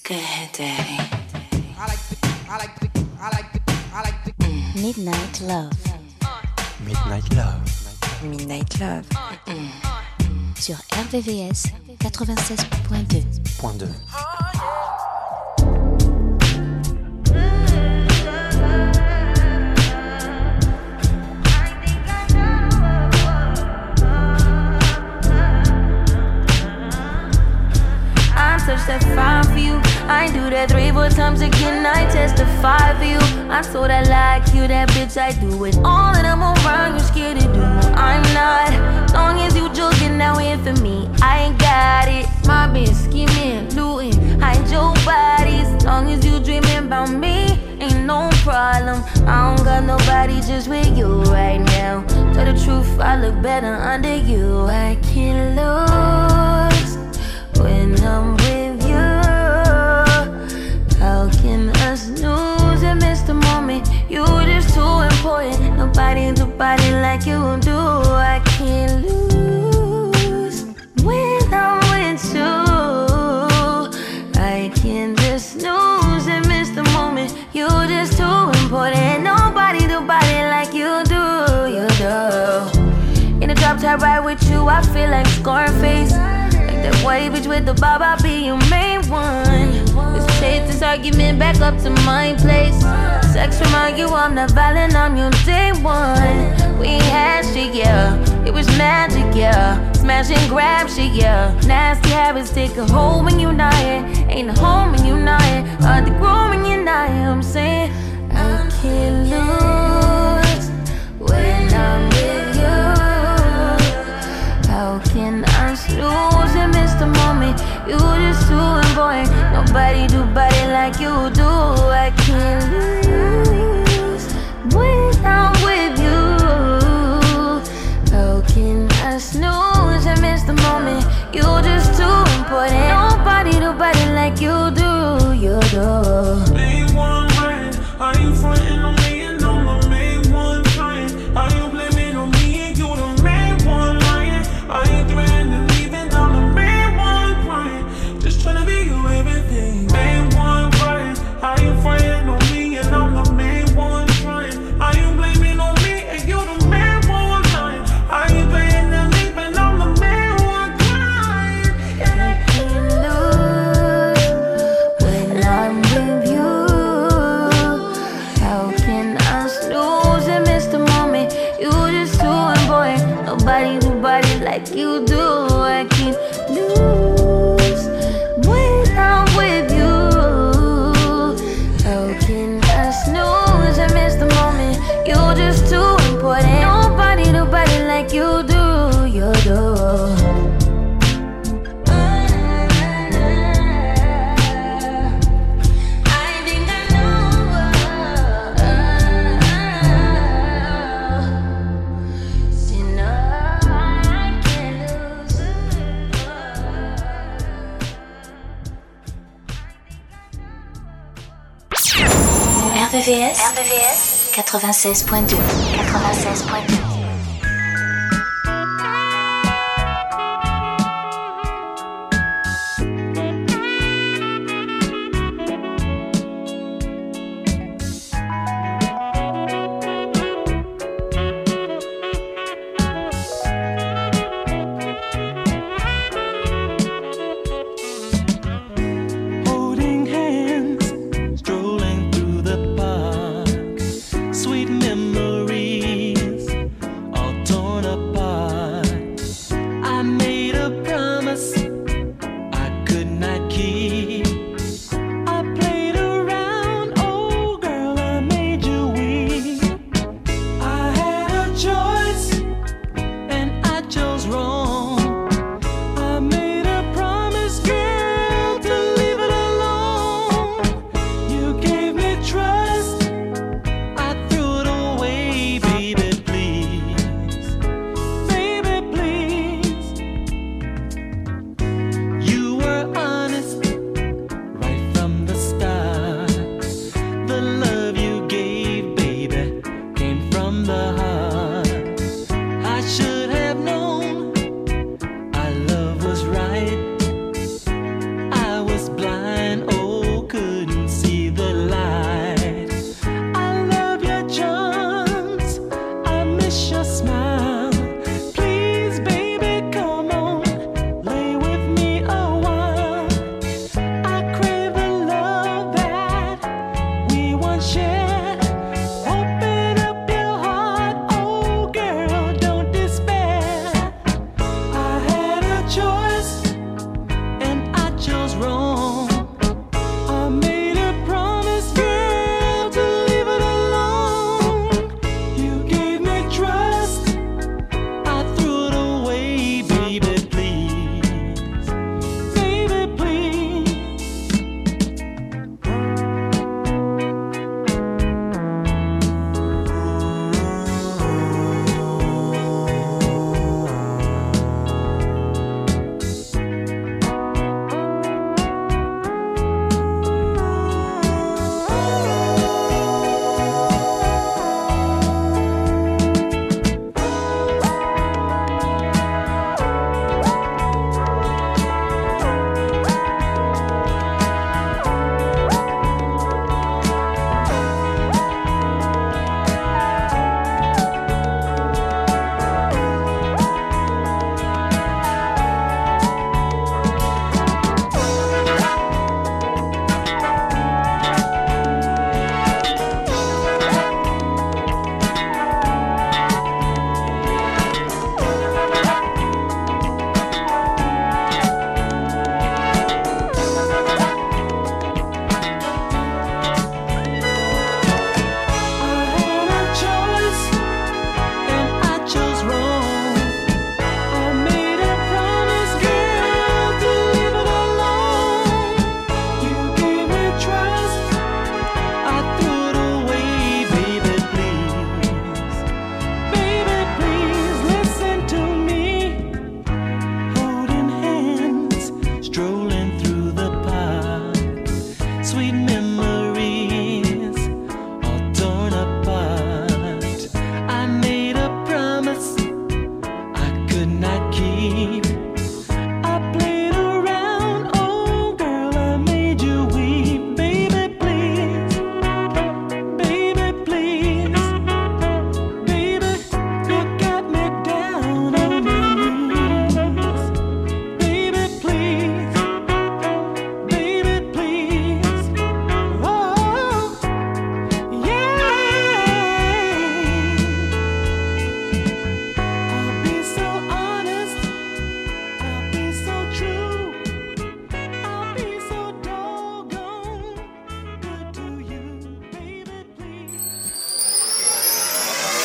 Go ahead, Daddy. Midnight Love. Midnight Love. Midnight Love. Sur RVVS 96.2. Point 2. Touch that fire for you. I ain't do that 3-4 times again. I testify for you. I so that like you, that bitch. I do it all that I'm around. You scared to do. I'm not. Long as you joking now in for me, I ain't got it. My bitch scheming, looting, hide your bodies. Long as you dreaming about me, ain't no problem. I don't got nobody just with you right now. Tell the truth, I look better under you. I can't lose when I'm with you. How can us lose and miss the moment? You just too important. Nobody do body like you do. I can't lose when I'm with you. I can't just lose and miss the moment. You just too important. Nobody do body like you do. You do. In the drop top ride with you, I feel like Scarface. That white bitch with the bob, I'll be your main one. Let's take this argument back up to my place. Sex remind you I'm not violent, I'm your day one. We had shit, yeah, it was magic, yeah. Smash and grab shit, yeah. Nasty habits take a hold when you're not here. Ain't a home when you're not here. Hard to grow when you're not here. I'm saying I can't lose when I'm with you. How can I lose and miss the moment? You just too important. Nobody do body like you do. I can't lose when I'm with you. How can I snooze and miss the moment? You just too important. Nobody do body like you do. You do. Main one right. Are you frontin' on me and I'm the main one trying? Are you blaming on me and you the main one lying? Are you threatening leaving? I'm the main one crying. Just tryna be you everything. Main one crying. Are you frontin' on me and I'm the main one trying? Are you blaming on me and you the main one lying? Are you threatening leaving? I'm the main one crying. I can't lose when I'm with you. How can I snooze and miss the moment? You just too important. Nobody do body like you do. I can't lose when I'm with you. How can I snooze and miss the moment? You just too important. Nobody do body like you do. You do. RVVS 96.2. 96.2. Sweet memories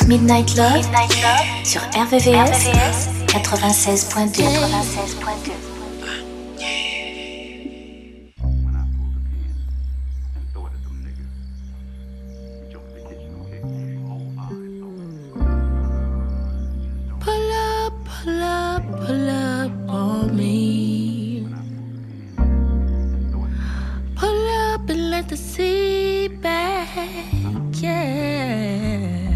Midnight Love sur RVVS 96.2. Pull up on me. Pull up and let the sea back, yeah.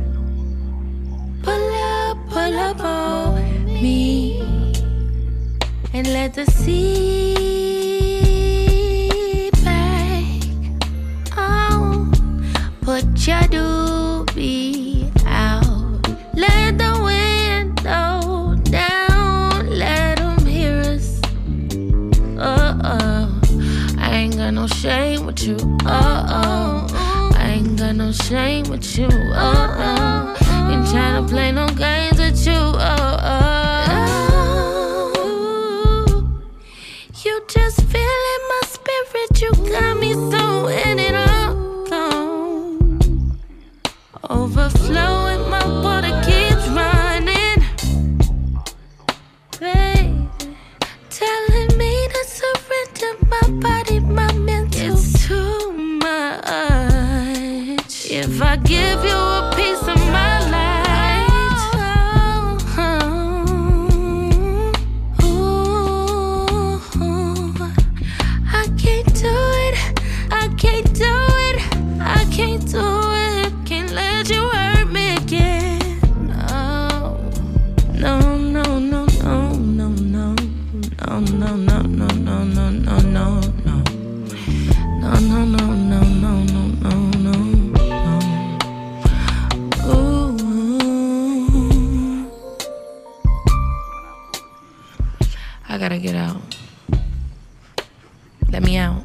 Pull up on me and let the sea back. Oh, put your doobie out. Let the window down. Let them hear us. I ain't got no shame with you. I ain't got no shame with you. Ain't tryna play no games with you. You just feeling my spirit. You got me so in it all. Overflowing, my water keeps running. Baby, telling me to surrender my body, my mental. It's too much. If I give you a piece of my life, I can't do it. I can't do it. I can't do it. Can't let you hurt me again. No, no, no, no, no, no, no, no, no, no, no, no, no, no, no. No, no, no, no, no, no, no, no, no. Ooh. I gotta get out. Let me out.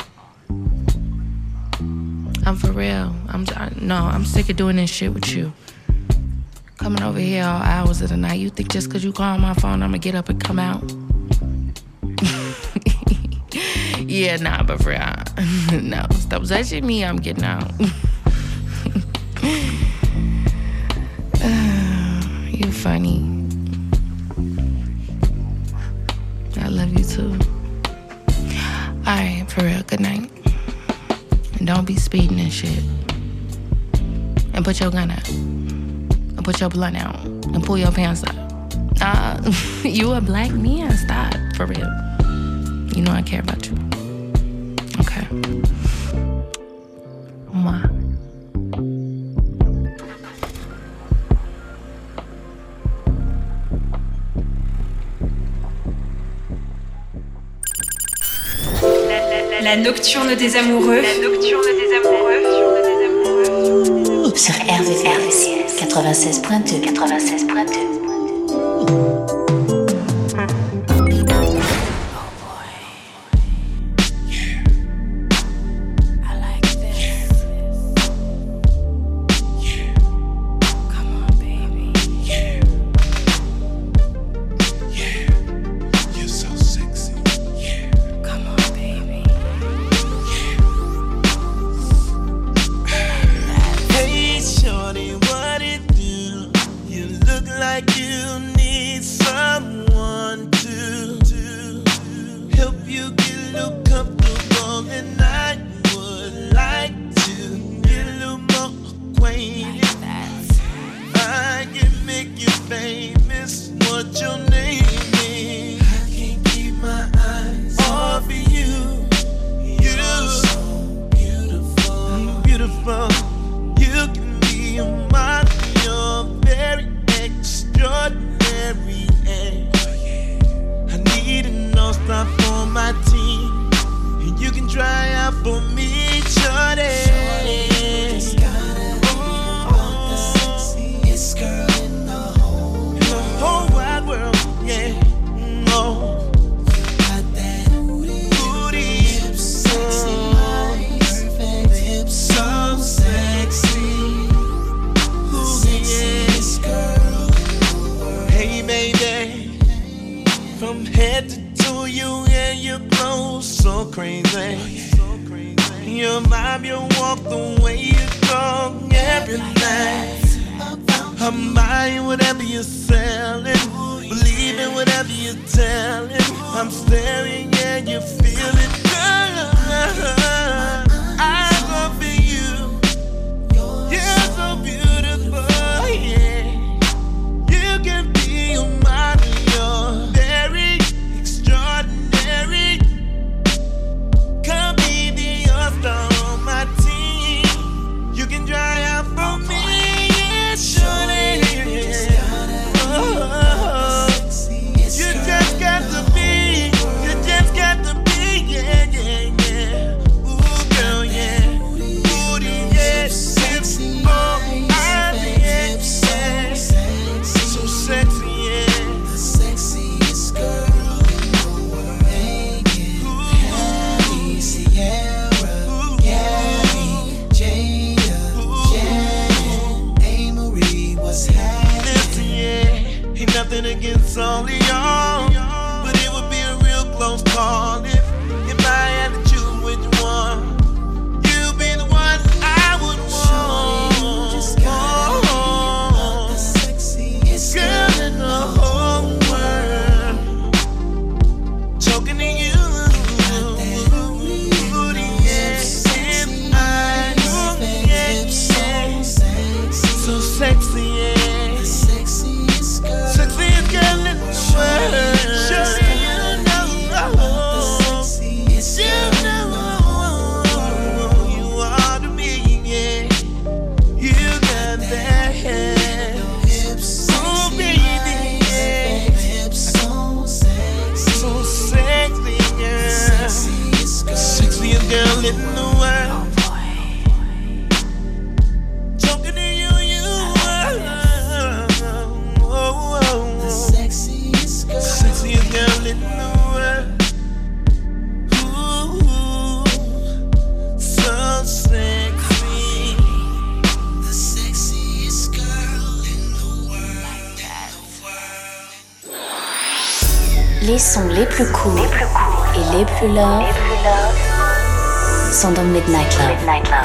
I'm for real. I'm sick of doing this shit with you. Coming over here all hours of the night. You think just cause you call my phone, I'ma get up and come out? Yeah, nah, but for real. No, stop touching me, I'm getting out. You funny. I love you too. Alright, for real, good night. And don't be speeding and shit. And put your gun out. And put your blunt out. And pull your pants up. You a black man, stop, for real. You know I care about you. Okay. Mwah. La nocturne des amoureux. La nocturne des amoureux. Sur RVVS 96.2. 96.2. I'm buying whatever you're selling, believing whatever you're telling. I'm staring, yeah, you feel it. I love you. You're so beautiful, yeah. You can be a model, you're very extraordinary. Come be the all-star on my team. You can dry out for me. Surely, you just got to be, yeah, yeah, yeah. Ooh, girl, yeah. Booty, yeah, hips, oh, I, yeah, yeah. So sexy, yeah. The sexiest girl in the world. Hey, Sierra, Gabby, Jada, Janet, Amory, what's happening? Listen, yeah, ain't nothing against all of y'all, but it would be a real close call if I had to choose which one. You'd be the one I would want. Shorty, you just gotta be the sexiest girl in the whole world. Choking to you. Booty, yeah, hips, eyes, yeah, yeah. So sexy, yeah. The sexiest girl in the world. Shorty, you know. You are to me, yeah. You got that hair. Oh, baby, yeah. So sexy, girl. Sexiest girl in the world. Talking to you, you are. Oh, sexiest girl in the world. Ooh, so sexy. The sexiest girl in the world. Les sons les plus cool et les plus love sont dans Midnight Love.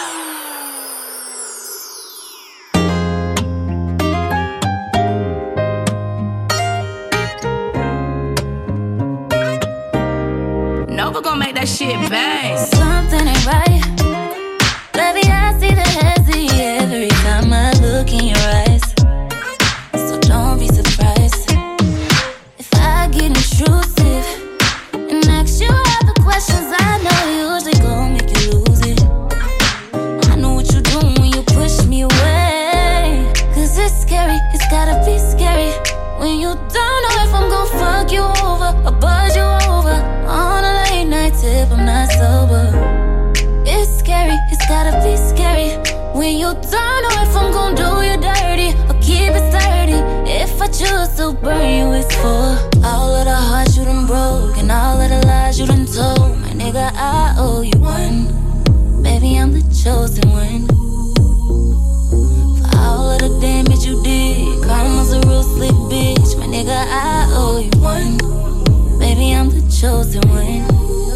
Nova gon' make that shit bang. Something ain't right. Baby, I see the hezzy every time I look in your eyes. So don't be surprised if I get intrusive and ask you all the questions I know usually gon' make you lose it. I know what you do when you push me away. Cause it's scary, it's gotta be scary when you don't know if I'm gon' fuck you over or buzz you over on a late night tip. I'm not sober. It's scary, it's gotta be scary when you don't know if I'm gon' do you dirty or keep it sturdy. If I choose to burn you, it's for all of the hearts you done broke and all of the lies you done told. My nigga, I owe you one. Maybe I'm the chosen one. For all of the damage you did, karma's a real slick bitch. My nigga, I owe you one. Maybe I'm the chosen one.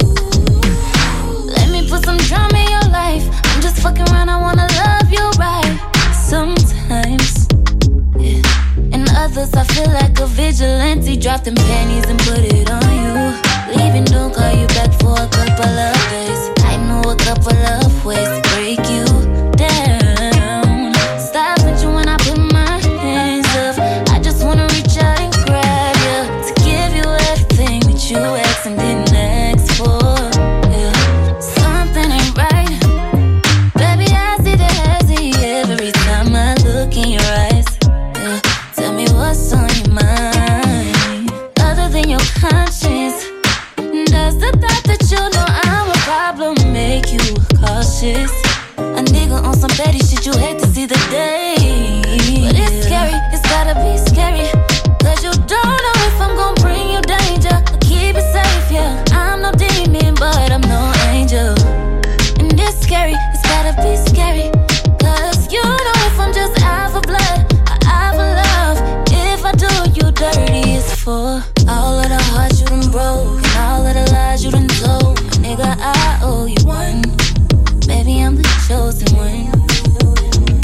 Let me put some drama in your life. I'm just fucking around, I wanna love you right. Sometimes, yeah. And others I feel like a vigilante. Drop them panties and put it on you. Leaving, don't call you back for a couple of days. I know a couple of ways to break you down. Stop bitching when I put my hands up. I just wanna reach out and grab you to give you everything that you asked and didn't ask for. Yeah. Something ain't right. Baby, I see the hezzy every time I look in your eyes. Yeah. Tell me what's on your mind, other than your conscience. Does the thought that you know I'm a problem make you cautious? A nigga on some petty shit, you hate to see the day. But it's scary, it's gotta be scary. Cause you don't know if I'm gon' bring you danger or keep it safe, yeah. I'm no demon, but I'm no angel. And it's scary, it's gotta be scary. Cause you know if I'm just out for blood or out for love. If I do you dirty, it's for all of the hearts you done broke and all of the lies you done told. My nigga, I owe you one. Maybe I'm the chosen one.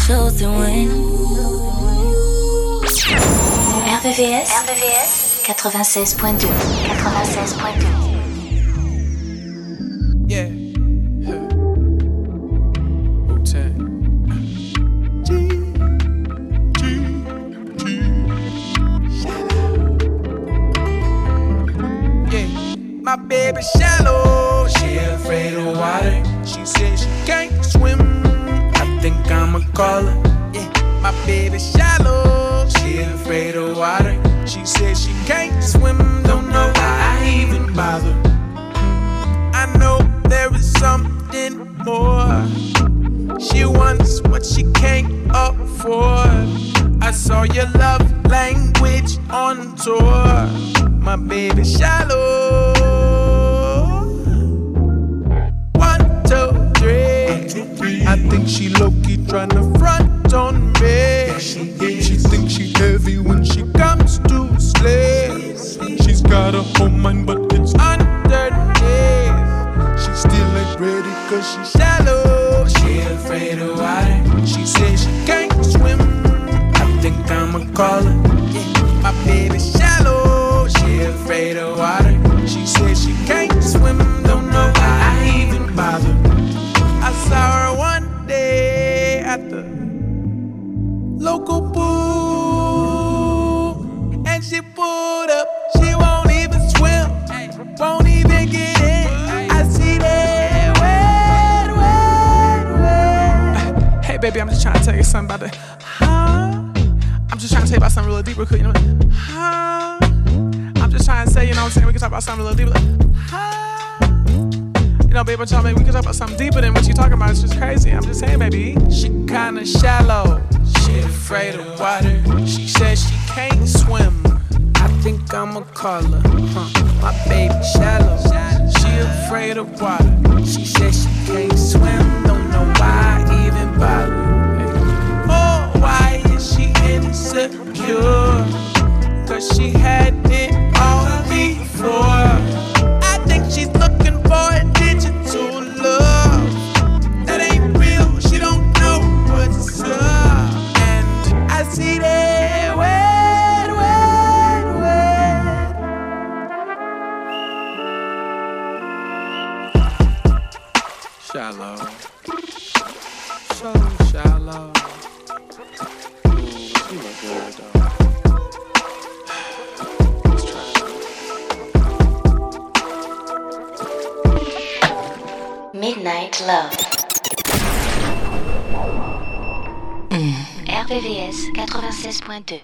chosen one. RVVS 96.2. Yeah. Wu-Tang. Yeah. My baby shallow, she afraid of water. She says she can't swim. I think I'ma call her. Yeah. My baby shallow, she afraid of water. She says she can't swim. Don't know why I even bother. I know there is something more. She wants what she can't afford. I saw your love language on tour. My baby shallow. 1, 2, 3. I think she low-key tryna front on me. She thinks she heavy when she comes to slay. She's got a whole mind but it's underneath. She still ain't ready cause she's shallow. She afraid of water. She says she can't swim. I think I'ma call her. Yeah. My baby shallow. She afraid of water. She says she can't swim. Don't know why I even bother. I saw her one day at the local pool, and she pulled up. She won't even swim, won't even get in. I see that wet. Hey baby, I'm just trying to tell you something about the. I'm just trying to tell you about something real deeper, you know. I'm just trying to say, you know what I'm saying, we can talk about something a little deeper. You know, baby, we can talk about something deeper than what you talking about. It's just crazy. I'm just saying, baby. She kinda shallow. She afraid of water. She says she can't swim. I think I'ma call her. My baby shallow. She afraid of water. She says she can't swim. Don't know why I even bother. Oh, why is she insecure? Cause she had it all before. I think she's looking for a digital love that ain't real. She don't know what's up. And I see that wet. Shallow. So shallow. Ooh, she look good though. Let's try it. Midnight Love. RVVS 96.2.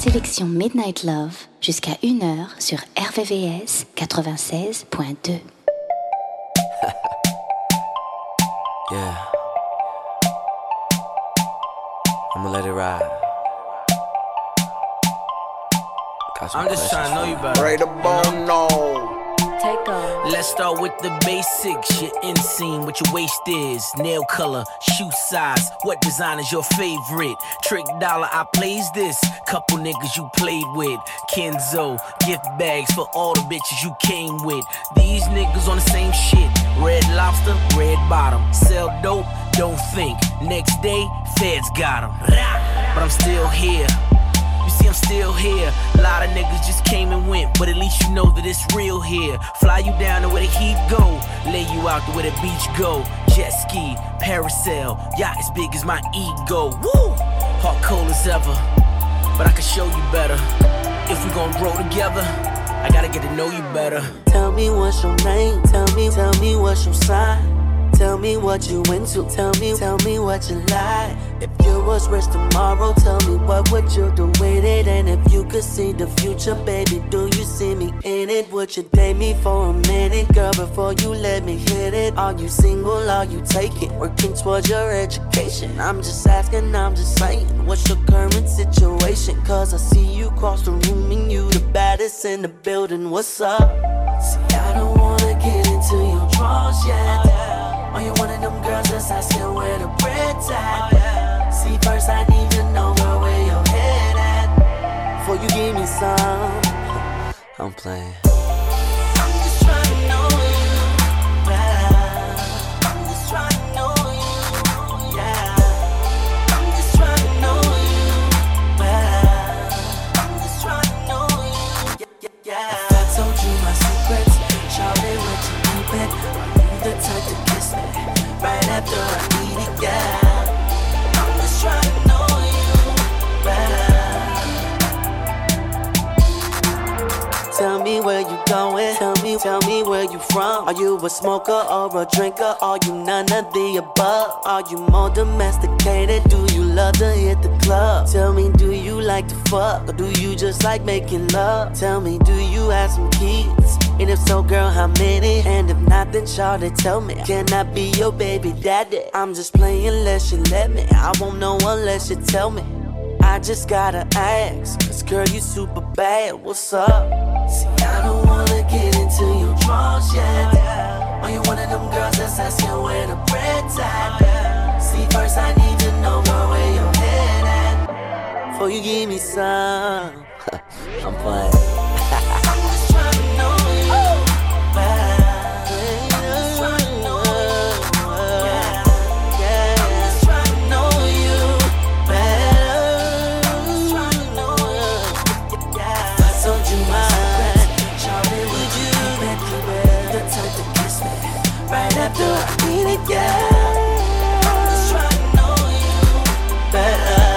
sélection Midnight Love jusqu'à 1h sur RVVS 96.2. Yeah. I'ma let it ride. I'm just trying to know you better. Right about now. Take off. Let's start with the basics. Your inseam, what your waist is, nail color, shoe size, what design is your favorite? Trick Dollar, I plays this. Couple niggas you played with. Kenzo, gift bags for all the bitches you came with. These niggas on the same shit. Red Lobster, red bottom. Sell dope, don't think. Next day, feds got 'em. But I'm still here. You see, I'm still here. A lot of niggas just came and went, but at least you know that it's real here. Fly you down to where the heat go, lay you out to where the beach go. Jet ski, parasail, yacht as big as my ego. Woo! Heart cold as ever, but I can show you better. If we gon' grow together, I gotta get to know you better. Tell me what's your name. Tell me what's your sign. Tell me what you into. Tell me what you like. If you was rich tomorrow, tell me what would you do with it? And if you could see the future, baby, do you see me in it? Would you date me for a minute, girl, before you let me hit it? Are you single? Are you taking? Working towards your education? I'm just asking, I'm just saying. What's your current situation? Cause I see you cross the room and you the baddest in the building. What's up? See, I don't wanna get into your drawers yet. Are you one of them girls that's asking where the bread's at? See, first I need to know, girl, where your head at. Before you give me some, I'm playing. I'm just trying to know you better. I'm just trying to know you, yeah. I'm just trying to know you better. I'm just trying to know you, yeah. If I told you my secrets, Charlie, would you keep it? Are you the type to kiss me right after I eat it, yeah? I'm just trying to know you better. Tell me where you going, tell me where you from. Are you a smoker or a drinker? Are you none of the above? Are you more domesticated? Do you love to hit the club? Tell me, do you like to fuck? Or do you just like making love? Tell me, do you have some kids? And if so, girl, how many? And if not, then Charlotte, tell me, can I be your baby daddy? I'm just playing unless you let me. I won't know unless you tell me. I just gotta ask, cause girl, you super bad, what's up? See, I don't wanna get into your drawers yet. Are you one of them girls that's asking where the bread's at? See, first I need to know, girl, where your head at. Before you give me some, I'm playing. I'm just trying to know you better. Right after I need it, yeah. I'm just trying to know you better.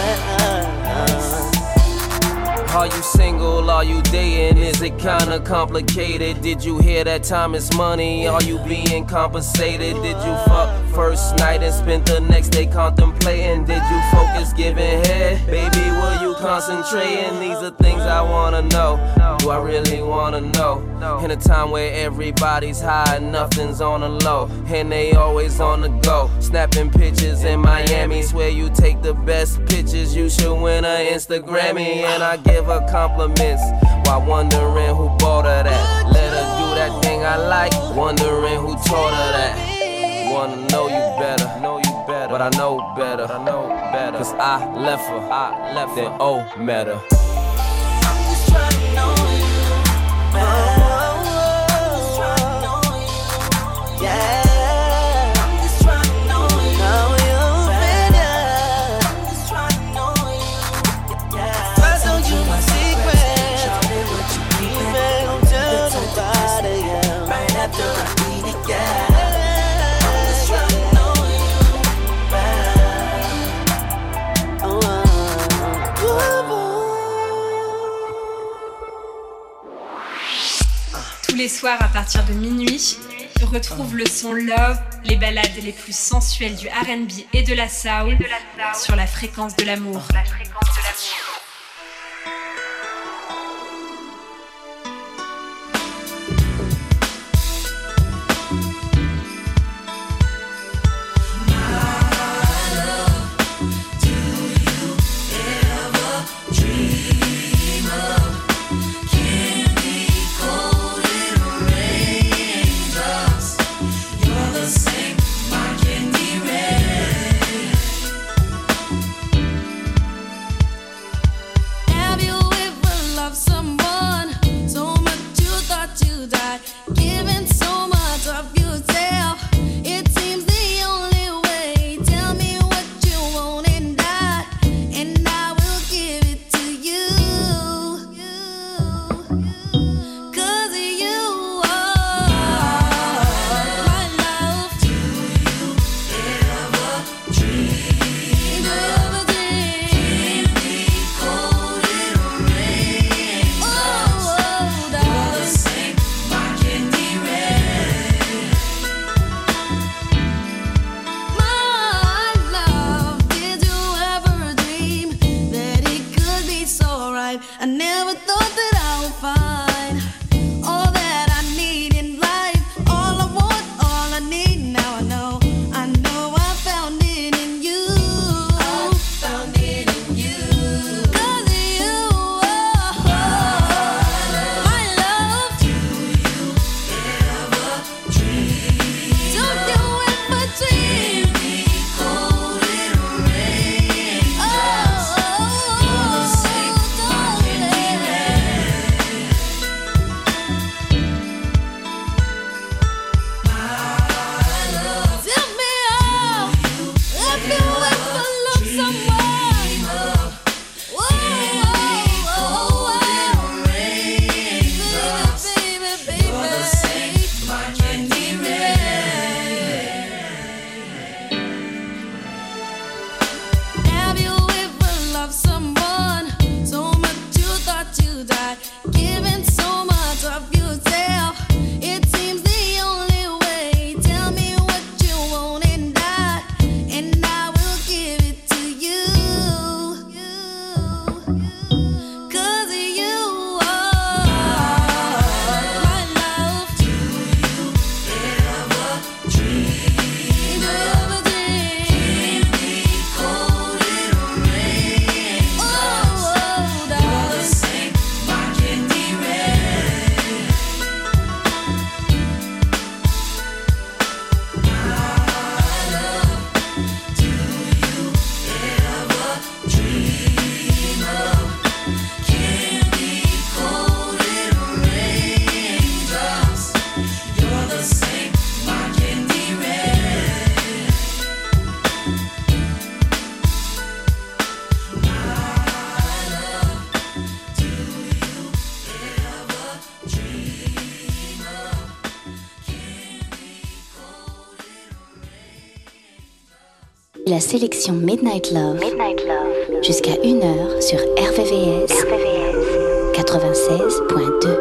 Are you single? Are you dating? Is it kinda complicated? Did you hear that time is money? Are you being compensated? Did you fuck first night and spend the next day contemplating? Did you focus giving head? Baby, were you concentrating? These are things I wanna know. Do I really wanna know? In a time where everybody's high and nothing's on the low, and they always on the go, snapping pictures in Miami. Swear you take the best pictures, you should win an Instagrammy. And I give her compliments while wondering who bought her that. Let her do that thing I like, wondering who taught her that. Wanna know you better, but I know better, cause I left her, then oh, met her. I'm just trying to know you better. Yeah, I'm just trying to know you better. I'm just trying to know you, yeah. I told you my secret. Charlie, what you keep it? Don't tell nobody, yeah. Right after I eat it, yeah. I'm just trying to know you better. Tous les soirs à partir de minuit, retrouve le son Love, les ballades les plus sensuelles du R&B et de la soul sur la fréquence de l'amour. La sélection Midnight Love, jusqu'à 1h sur RVVS 96.2.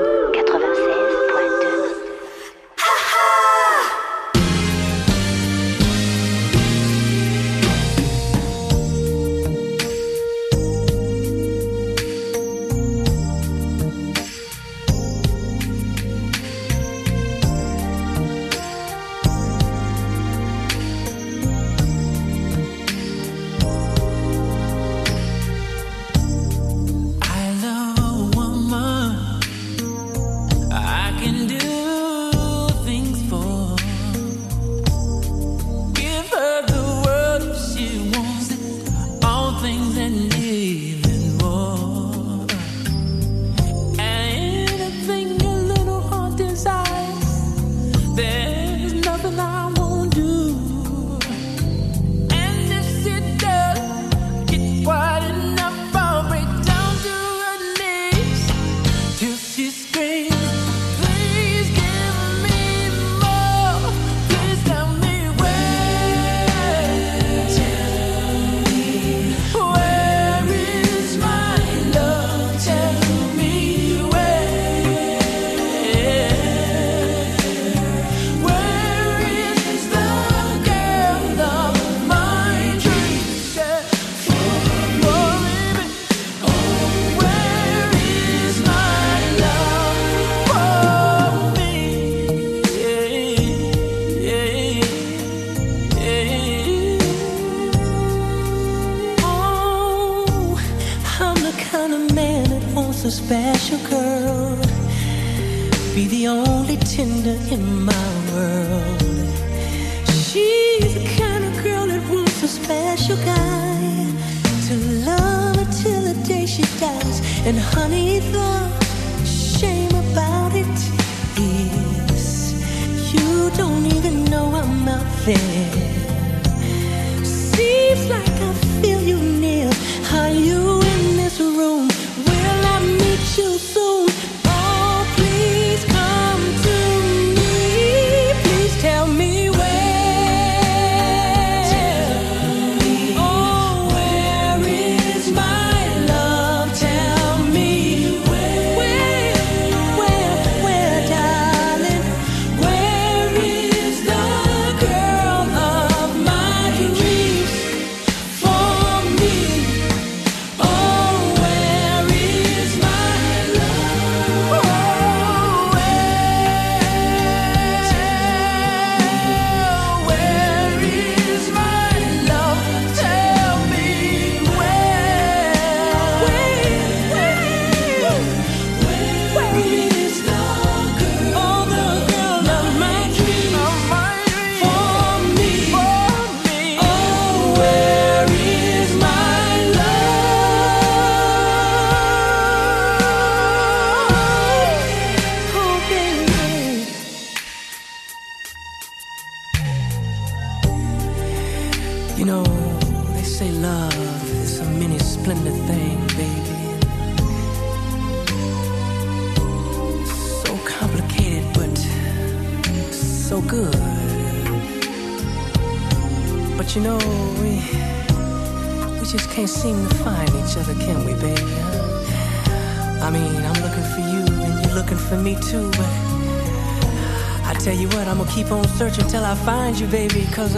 Keep on searching till I find you, baby, 'cause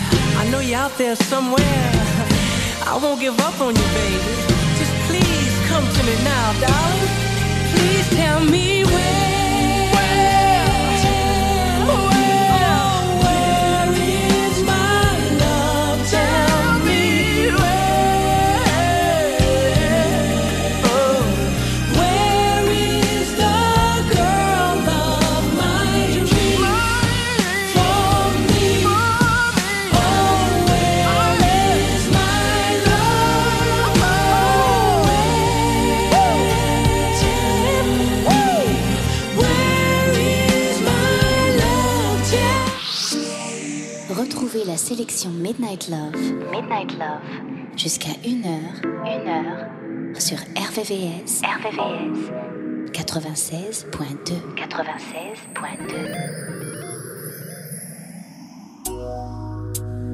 I know you're out there somewhere. I won't give up on you, baby. Just please come to me now, darling. Please tell me where is my love? Tell me where is the girl of my dreams? For me, where is my love? Retrouvez la sélection Midnight Love, jusqu'à 1h sur RVVS 96.2.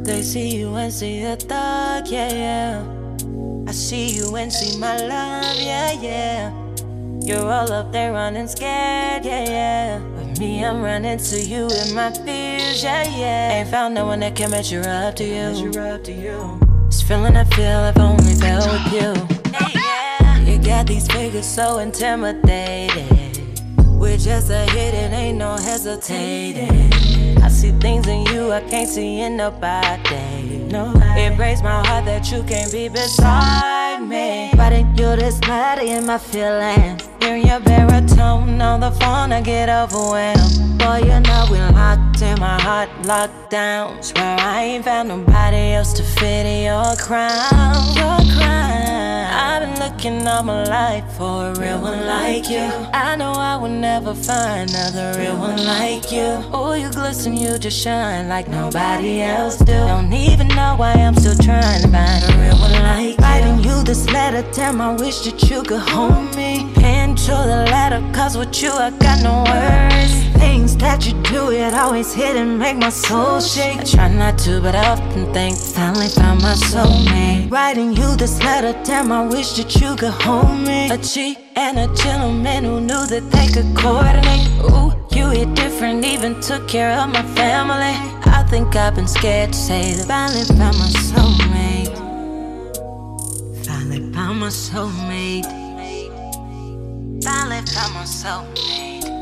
They see you and see a thug, yeah, yeah. I see you and see my love, yeah, yeah. You're all up there running scared, yeah, yeah. With me, I'm running to you in my fears, yeah, yeah. Ain't found no one that can measure up to you. This feeling I feel I've only felt with you. Hey, yeah. You got these figures so intimidated. With just a hit, it ain't no hesitating. I see things in you I can't see in nobody. It breaks my heart that you can't be beside me. Writing you this letter in my feelings. Hearing your baritone on the phone, I get overwhelmed. Boy, you know we locked in, my heart locked down. Swear I ain't found nobody else to fit in your crown. Your crown. I've been looking all my life for a real one like you. I know I will never find another real one like you. Oh, you glisten, you just shine like nobody else do. Don't even know why I'm still trying to find a real one like you. Writing you this letter, damn, I wish that you could hold me. Pen to the letter, cause with you I got no words. Things that you do, it always hit and make my soul shake. I try not to, but I often think, finally found my soulmate. Writing you this letter, damn, I wish that you could hold me. A cheat and a gentleman who knew that they could coordinate. Ooh, you hit different, even took care of my family. I think I've been scared to say that finally found my soulmate. Finally found my soulmate. Finally found my soulmate.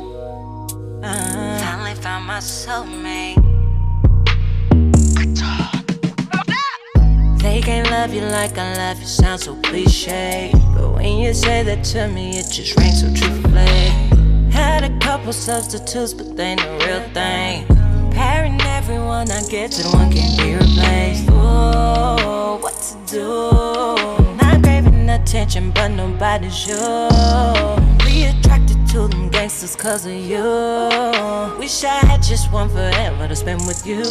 Finally found my soulmate. They can't love you like I love you, sounds so cliche. But when you say that to me, it just rings so truthfully. Had a couple substitutes, but they ain't the real thing. Comparing everyone I get to the one can't be replaced. Ooh, what to do? Not craving attention, but nobody's sure. We attracted to them gangsters cause of you. Wish I had just one forever to spend with you.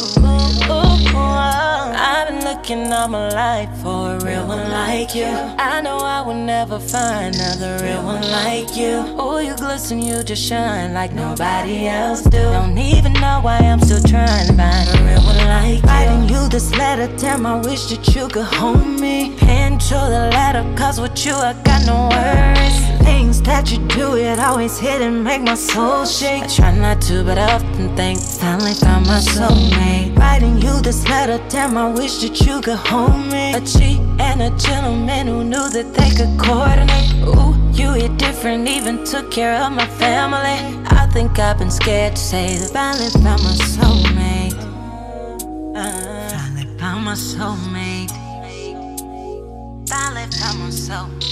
I've been looking all my life for a real one like you. I know I will never find another real one like you. Oh, you glisten, you just shine like nobody else do. Don't even know why I'm still trying to find a real one like you. Writing you this letter, damn, I wish that you could hold me. Pen to the letter, cause with you I got no words. Things that you do, it always hit and make my soul shake. I try not to, but I often think, finally found my soulmate. Writing you this letter, damn, I wish that you could hold me. A cheat and a gentleman who knew that they could coordinate. Ooh, you hit different, even took care of my family. I think I've been scared to say that finally found my soulmate. Finally found my soulmate. Finally found my soulmate.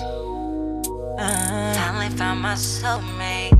Finally found my soulmate.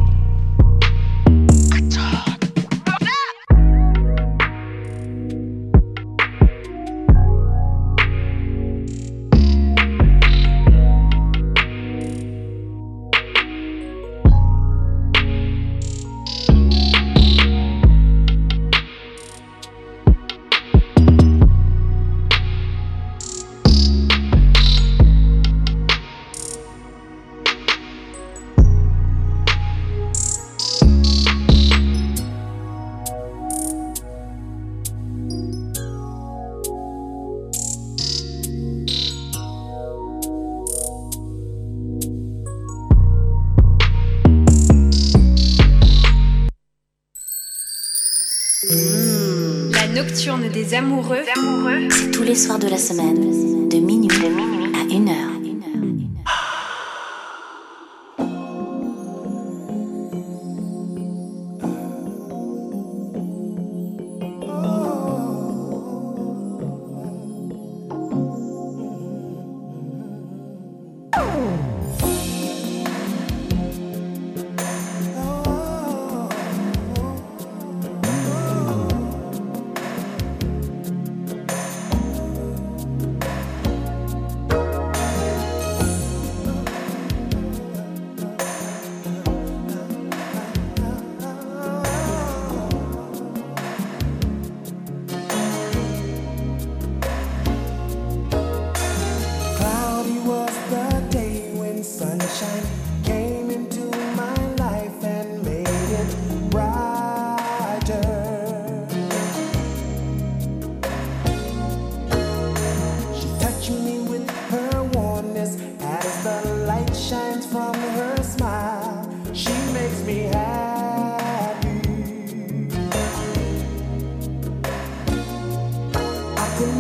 Nocturne des amoureux, c'est tous les soirs de la semaine, de minuit à 1h.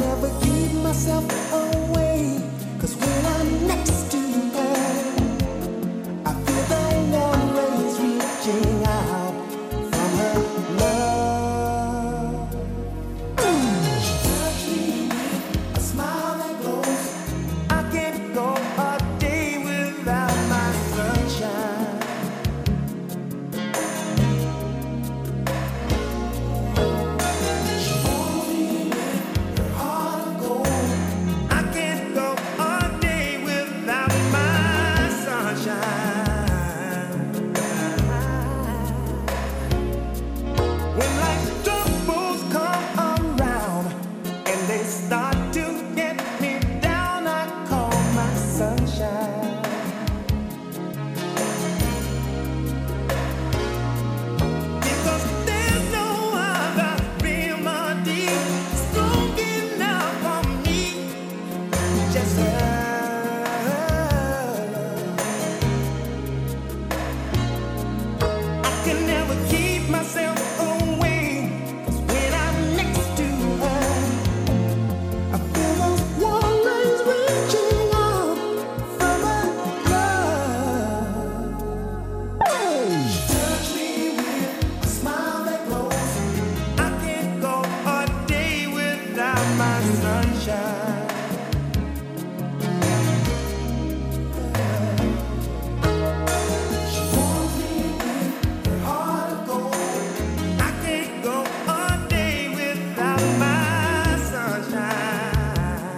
never keep myself away, 'cause when I'm next to her, I feel the warm rays reaching out from her love. She touched me with a smile that glows. I can't go a day without my sunshine. She holds me with her heart of gold. I can't go a day without my sunshine. When life's troubles come around and they start to get me down, I call my sunshine. Because there's no other remedy strong enough for me, just her. I can never keep myself away, 'cause when I'm next to her, I feel those warm rays reaching out from her love. She touched me with a smile that glows. I can't go a day without my sunshine. She holds me with her heart of gold. I can't go a day without my sunshine.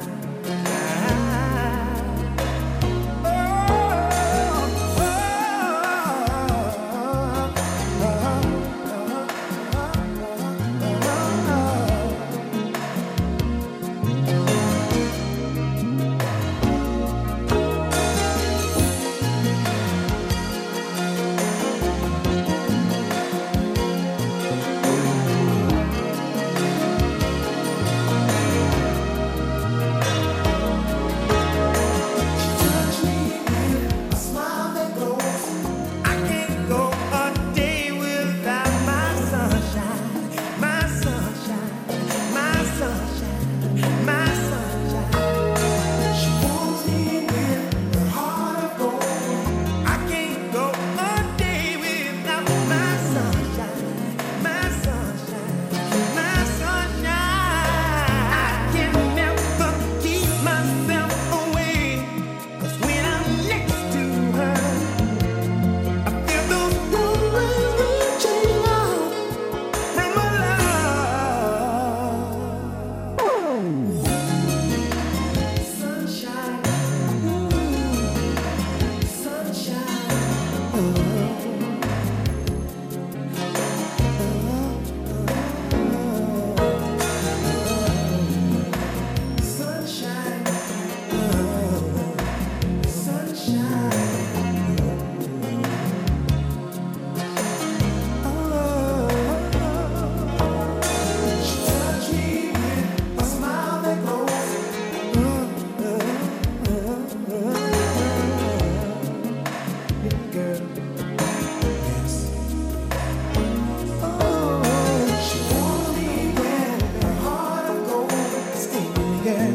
Touch me with a smile that glows. I can't go a day without my sunshine, my sunshine, my sunshine, my sunshine. She holds me with her heart of gold. I can't go a day without my sunshine, my sunshine, my sunshine. I can never keep myself away, 'cause when I'm next to her, I feel those warm rays reaching out from her love. Sunshine, sunshine, she touched me with a smile that glows. Girl, yes. She holds me with her heart of gold. Stay with me, girl.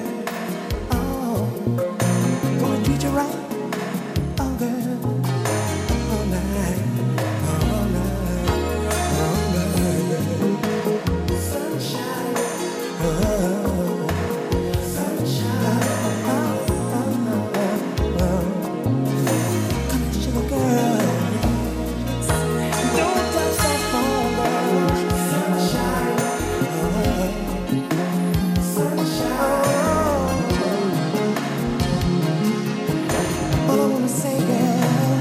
Gonna treat you right, girl. All night, all night, all night. Sunshine, sunshine. Come and sugar girl. Don't touch that phone, girl. Sunshine, sunshine. All I wanna say, girl,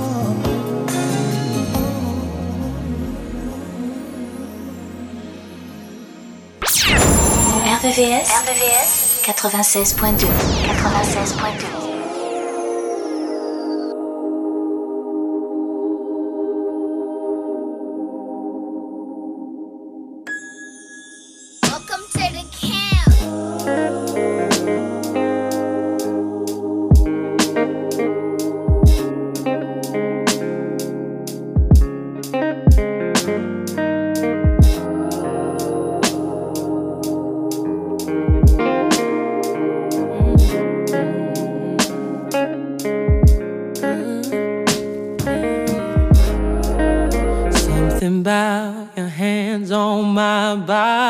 RVVS 96.2. 96.2. Welcome to the camp.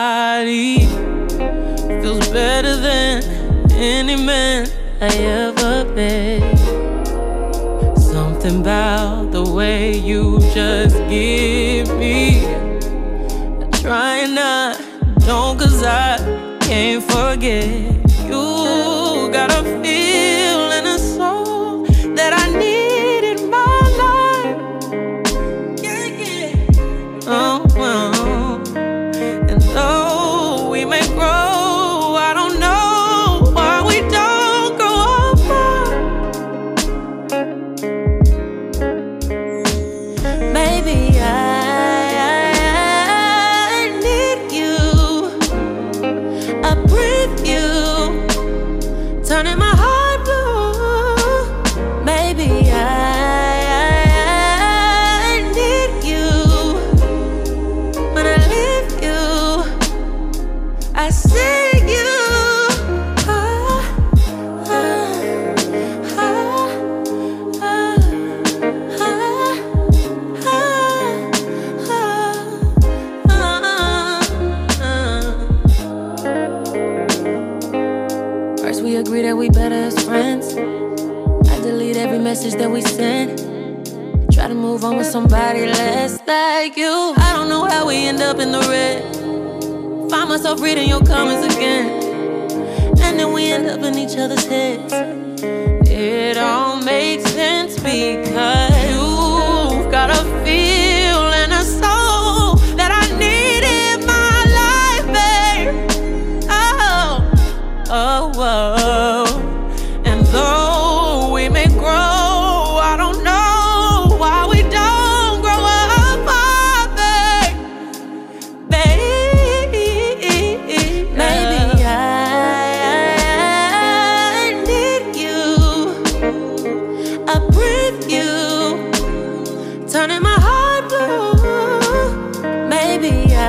body feels better than any man I ever met. Something about the way you just give me. Trying not, don't, 'cause I can't forget. You got a feel and a soul that I need in my life. Yeah, yeah. Oh, oh. And though we may grow, I don't know why we don't grow apart. Maybe turning my heart blue. Maybe I need you. When I leave you, I see you. We agree that we better as friends. I delete every message that we send. Try to move on with somebody less like you. I don't know how we end up in the red. Find myself reading your comments again, and then we end up in each other's heads. It all makes sense because you've got a feel and a soul that I need in my life, babe. Oh, whoa. And though we may grow, I don't know why we don't grow apart, babe. Maybe I need you. I breathe you, turning my heart blue. Maybe I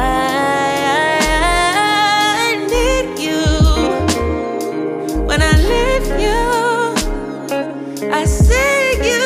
need you. When I leave you, I see you.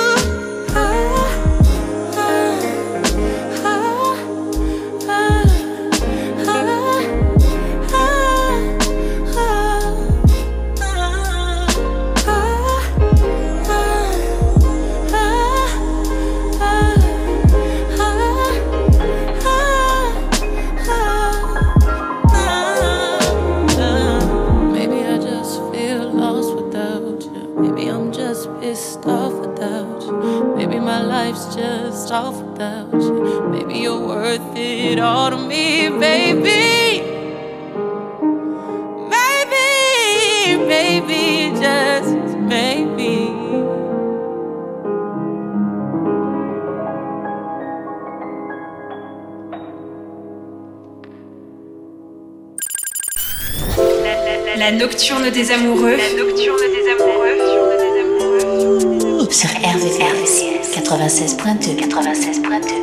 Maybe I just feel lost without you. Maybe I'm just pissed off without you. Maybe my life's just off without you. Maybe you're worth it all to me, baby. Maybe, just maybe. La nocturne des amoureux. La nocturne des amoureux. Sur RVCS 96.2. 96.2.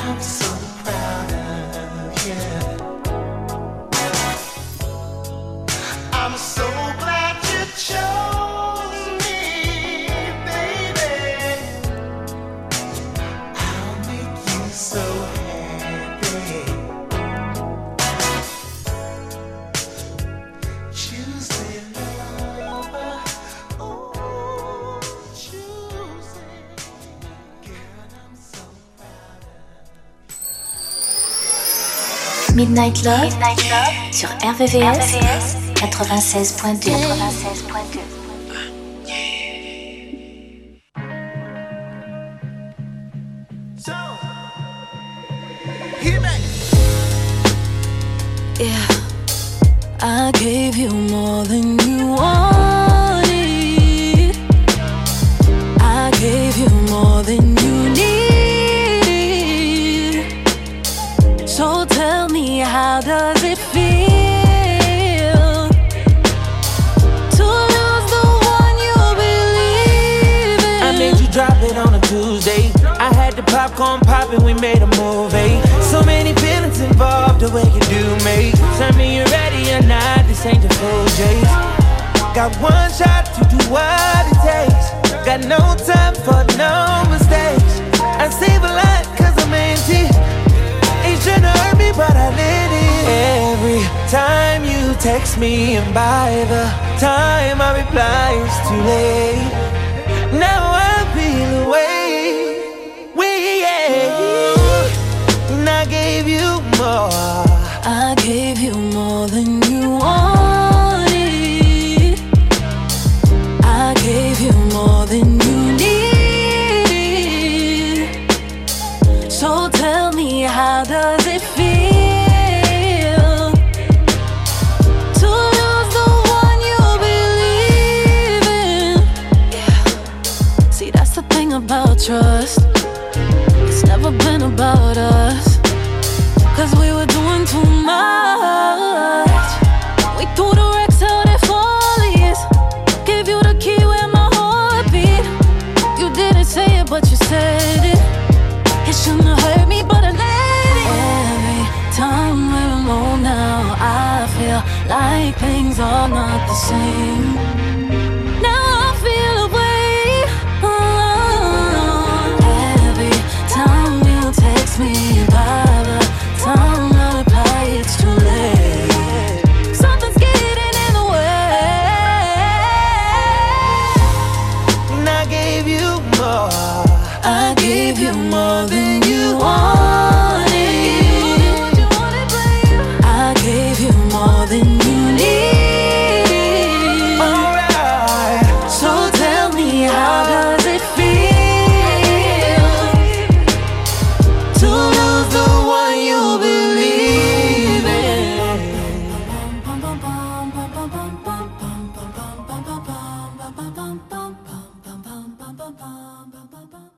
I'm so proud of you. I'm so glad you chose me, baby. I'll make you so happy. Choose me, lover. Oh, choose it. Girl, I'm so proud of you. Midnight Love sur RVVS 96.2. Yeah, I gave you more than you wanted. I gave you more than you need. So tell me, how does it feel to lose the one you believe in? I made you drop it on a Tuesday. I had the popcorn poppin', we made a movie. So many feelings involved, the way you do me. Tell me you're ready or not, this ain't the full chase. Got one shot to do what it takes. Got no time for no mistakes. I save a lot cause I'm empty. Ain't tryna hurt me but I let it. Every time you text me and by the time I reply it's too late. Now I feel away. And I gave you more. I gave you more than you wanted. I gave you more than you need. So tell me, how does it feel to lose the one you believe in? Yeah. See, that's the thing about trust.